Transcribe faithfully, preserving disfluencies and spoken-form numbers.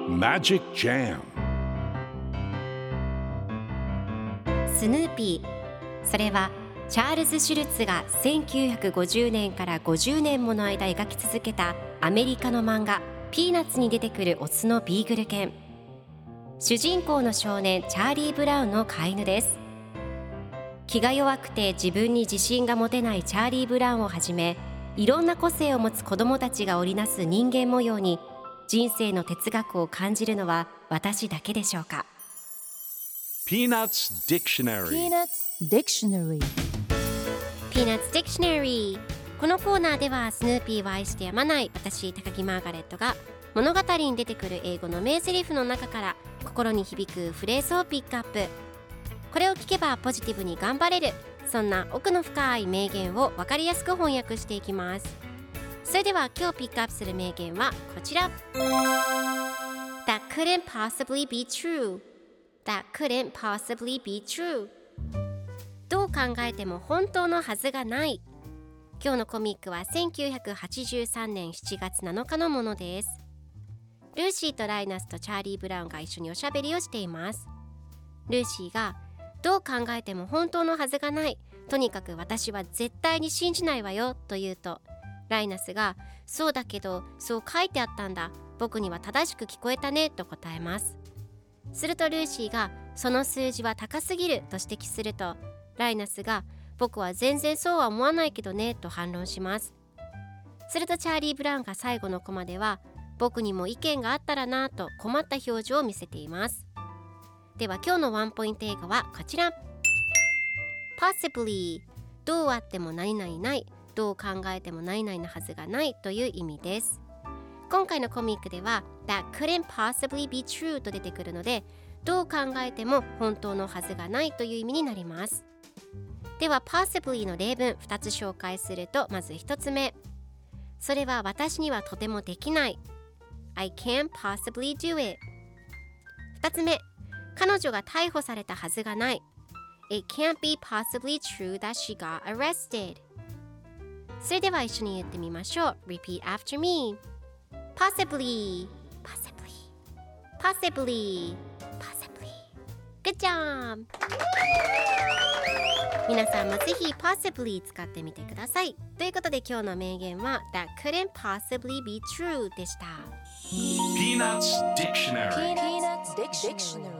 Magic Jam スヌーピー、それはチャールズ・シュルツがせんきゅうひゃくごじゅうねんからごじゅうねんもの間描き続けたアメリカの漫画ピーナッツに出てくるオスのビーグル犬。主人公の少年チャーリー・ブラウンの飼い犬です。気が弱くて自分に自信が持てないチャーリー・ブラウンをはじめ、いろんな個性を持つ子どもたちが織りなす人間模様に人生の哲学を感じるのは私だけでしょうか。 Peanuts Dictionary Peanuts Dictionary Peanuts Dictionary。 このコーナーではスヌーピーを愛してやまない私高木マーガレットが物語に出てくる英語の名台詞の中から心に響くフレーズをピックアップ。これを聞けばポジティブに頑張れる、そんな奥の深い名言を分かりやすく翻訳していきます。それでは今日ピックアップする名言はこちら。 That couldn't possibly be true That couldn't possibly be true。 どう考えても本当のはずがない。今日のコミックはせんきゅうひゃくはちじゅうさんねんしちがつなのかのものです。ルーシーとライナスとチャーリー・ブラウンが一緒におしゃべりをしています。ルーシーがどう考えても本当のはずがない、とにかく私は絶対に信じないわよと言うと、ライナスがそうだけどそう書いてあったんだ、僕には正しく聞こえたねと答えます。するとルーシーがその数字は高すぎると指摘すると、ライナスが僕は全然そうは思わないけどねと反論します。するとチャーリー・ブラウンが最後のコマでは僕にも意見があったらなと困った表情を見せています。では今日のワンポイント英語はこちら。 Possibly、 どうあっても何々ない、どう考えても何々なはずがないという意味です。今回のコミックでは That couldn't possibly be true と出てくるので、どう考えても本当のはずがないという意味になります。では possibly の例文ふたつ紹介すると、まずひとつめ、それは私にはとてもできない。 I can't possibly do it。 ふたつめ、彼女が逮捕されたはずがない。 It can't be possibly true that she got arrested。 それでは一緒に言ってみましょう。 Repeat after me。 Possibly Possibly Possibly Possibly Good job。 皆さんもぜひ Possibly 使ってみてください。ということで今日の名言は That couldn't possibly be true でした。 Peanuts Dictionary Peanuts Dictionary